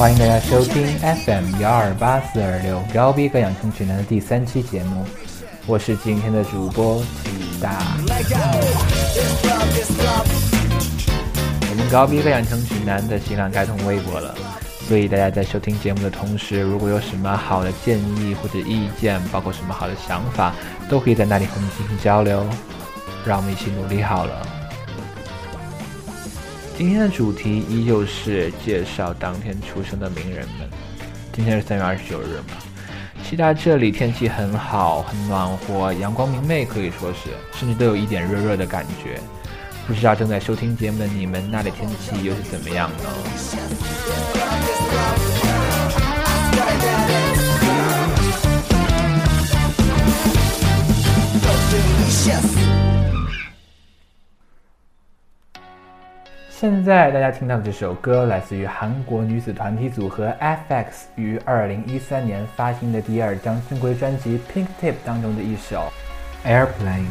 欢迎大家收听 FM1284226高逼格养成指南的第3期节目，我是今天的主播启大。我们高逼格养成指南的新浪开通微博了，所以大家在收听节目的同时，如果有什么好的建议或者意见，包括什么好的想法，都可以在那里和我们进行交流，让我们一起努力好了。今天的主题依旧是介绍当天出生的名人们。今天是3月29日嘛，西大这里天气很好，很暖和，阳光明媚，可以说是甚至都有一点热热的感觉。不知道正在收听节目的你们那里天气又是怎么样呢？现在大家听到的这首歌来自于韩国女子团体组合 FX 于2013年发行的第2张正规专辑 Pink Tip 当中的一首 Airplane。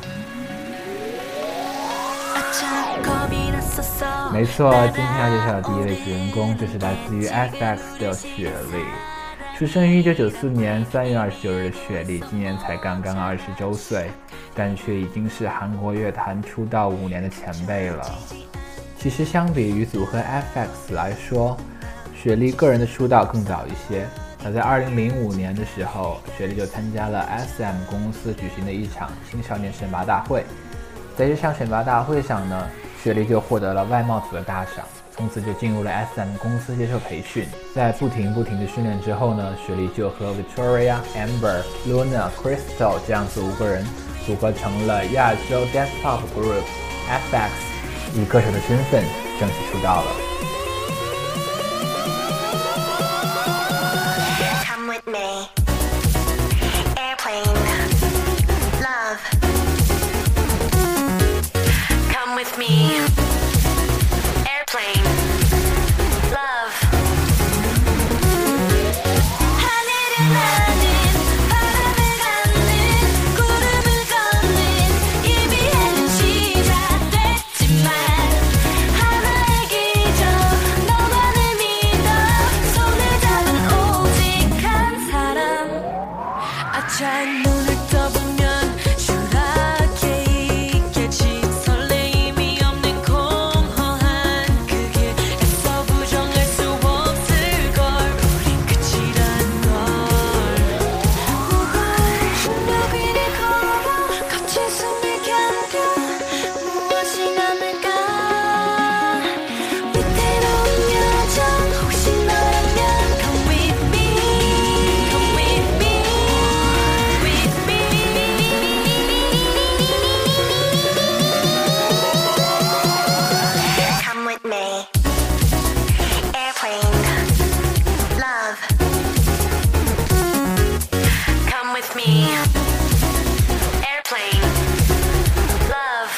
没错，今天要介绍的第一位主人公就是来自于 FX 的雪莉。出生于1994年3月29日的雪莉今年才刚刚20周岁，但却已经是韩国乐坛出道5年的前辈了。其实相比于组合 FX 来说，雪莉个人的出道更早一些。早在2005年的时候，雪莉就参加了 SM 公司举行的一场青少年选拔大会。在这场选拔大会上呢，雪莉就获得了外贸组的大赏，从此就进入了 SM 公司接受培训。在不停的训练之后呢，雪莉就和 Victoria、Amber、Luna、Crystal 这样子5个人组合成了亚洲 Dance Pop Group FX，以歌手的身份正式出道了。Come with me, airplane, love. Come with me, airplane, love. 하늘을 나는 바람을 가는 구름을 걷는 이비에는 시작됐지만 하나의 기적 너만을 믿어 손을 잡은 오직 한 사람 아차 눈을 떠보면 추락해 있겠지 설레임이 없는 공허한 그 길 애써 부정할 수 없을걸 우린 끝이란 걸 충격 위를 걸어 거친 숨을 견뎌 무엇이 남을까 위태로운 여정 혹시 너라면 Come with me Come with me with me Come with me airplane love Come with me airplane love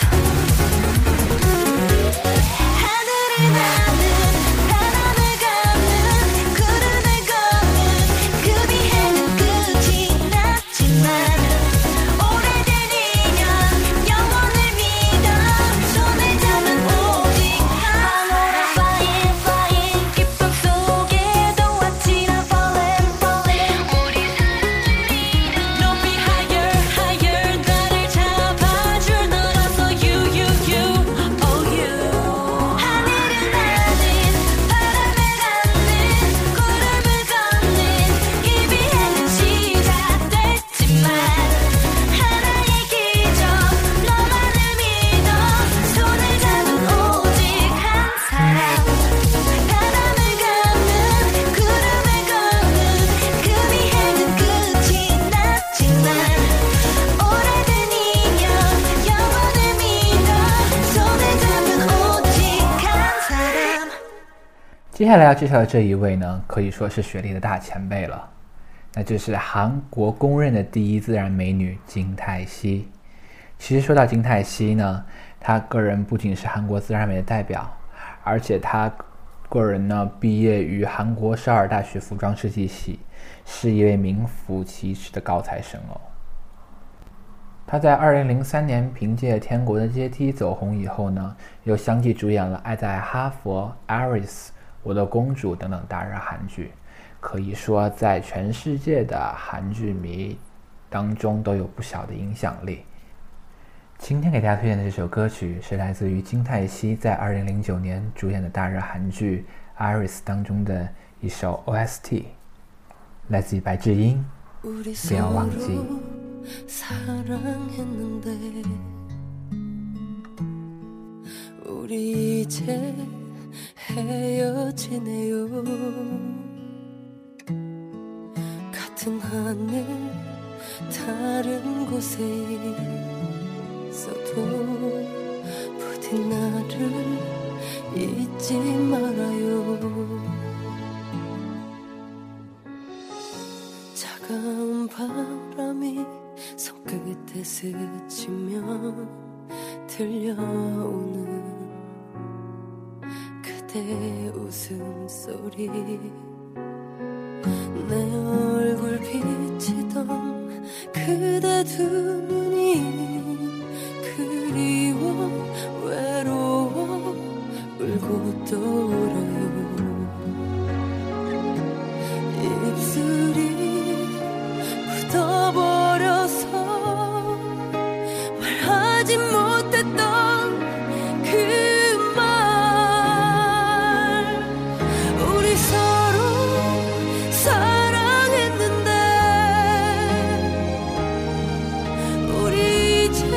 하늘을 나는 바람을 가는 구름을 걷는 그 비행은 끝이 났지만 오래된 인연 영원을 믿어 손을 잡은 오직 하늘아 flying flying 기쁨 속에도 아찔한 falling falling 우리 사랑을 믿어 높이 higher higher 나를 잡아줄 너라서 you you you oh you 하늘을 나는 바람을 가는 구름을 걷는 이 비행은 시작됐지만 하나의 기적 너만을 믿어 손을 잡은 오직 한 사람 바람을 가는 구름을 걷는 그 비행은 끝이 났지만 오래된 인연 영원을 믿어 손을 잡은 오직 한 사람。 接下来要介绍的这一位呢，可以说是雪莉的大前辈了，那就是韩国公认的第一自然美女金泰熙。其实说到金泰熙呢，她个人不仅是韩国自然美的代表，而且她个人呢毕业于韩国首尔大学服装设计系，是一位名副其实的高材生哦。他在2003年凭借《天国的阶梯》走红以后呢，又相继主演了《爱在哈佛》、《Aris》、 我的公主等等大热韩剧，可以说在全世界的韩剧迷当中都有不小的影响力。今天给大家推荐的这首歌曲是来自于金泰熙在2009年主演的大热韩剧《Iris》当中的一首 OST， 来自于白智英，不要忘记。 사랑했는데 우리 이제 헤어지네요. 같은 하늘 다른 곳에 있어도 부디 나를 잊지 말아요. 차가운 바람이 손끝에 스치며 들려오는 그대 웃음소리 내 얼굴 비치던 그대 두 눈이 그리워 외로워 울고 또 울어요. 입술이 굳어버려서 말하지 못했던 그 말 우리 서로 사랑했는데 우리 이제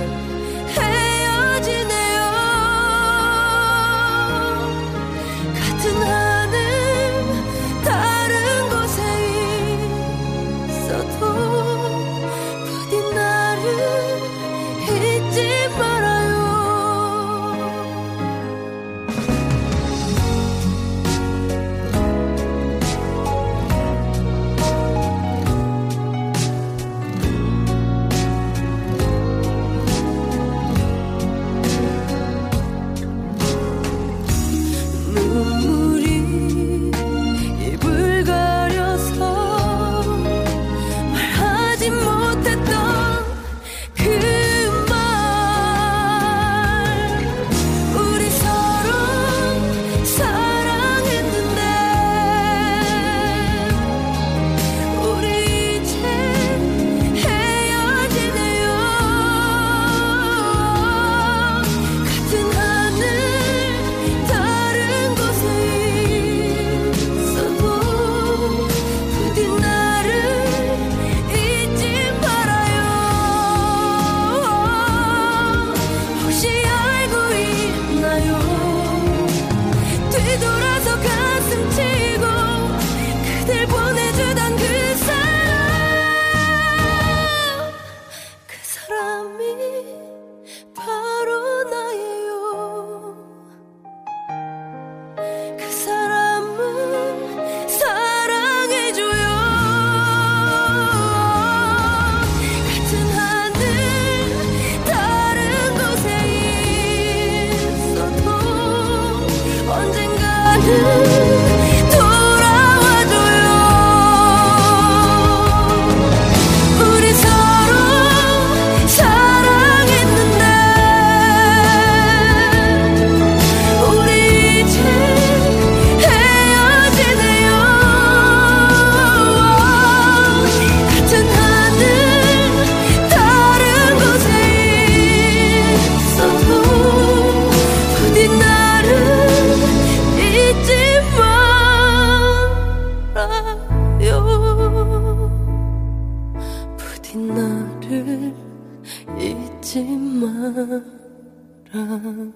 헤어지네요. 같은 하늘 다른 곳에 있어도 부디 나를 잊지 말아요. 눈물이 입을 가려서 말하지 못했던 그 말 우리 서로 사랑했는데 우리 이제 헤어지네요. 같은 하늘 다른 곳에 있어도 부디 나를 잊지 말아요. 혹시 알고 있나요? 뒤돌아서 가슴 치고 그댈 보내주던 그 사람이 바로 나예요. 그 사람을 사랑해줘요. 같은 하늘 다른 곳에 있어도 언젠가는 돌아와줘요. 우리 서로 사랑했는데 우리 이제 헤어지네요. 같은 하늘 다른 곳에 있어도 부디 나를 잊지 말아요. 부디 나를 잊지 말아요.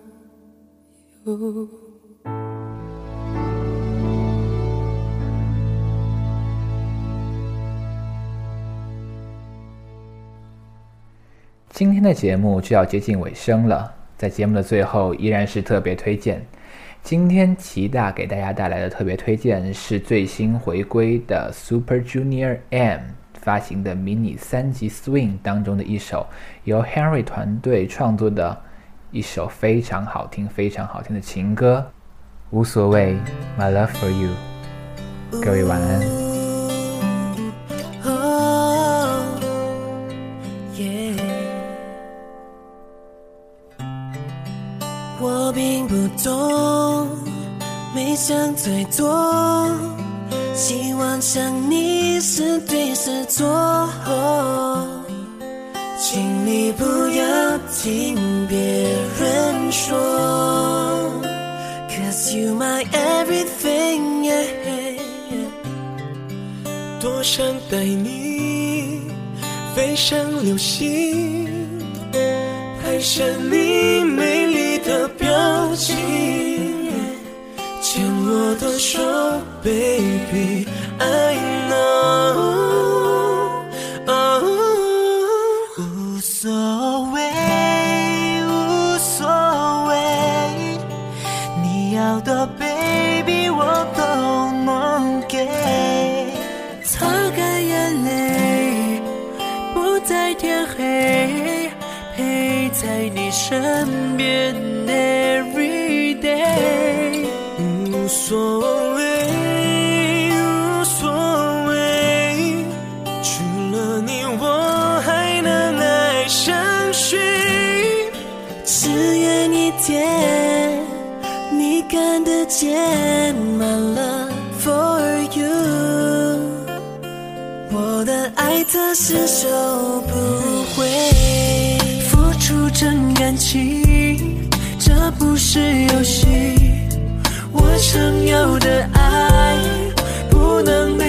今天的节目就要接近尾声了，在节目的最后依然是特别推荐。今天齐大给大家带来的特别推荐是最新回归的 Super Junior M 发行的迷你3集 Swing 当中的一首由 Henry 团队创作的一首非常好听的情歌，无所谓 My Love For You。 各位晚安。 我并不懂没想太多，希望想你是对是错，请你不要听别人说 Cause you my everything, yeah. 多想带你飞向流星，拍下你美丽的表情，牵我的手 Baby I know、无所谓无所谓，你要的 Baby 我都能给，擦干眼泪不在天黑，陪在你身边 every day， 无所谓无所谓，除了你我还能爱上谁，只愿一天你看得见 my love for you， 我的爱测试收不回，付出真感情，这不是游戏，我想要的爱不能被